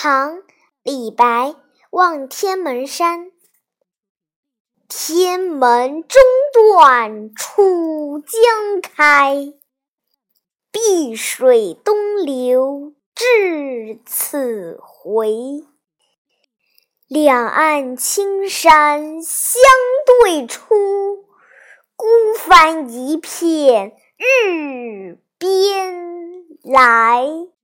唐·李白望天门山。天门中断楚江开，碧水东流至此回。两岸青山相对出，孤帆一片日边来。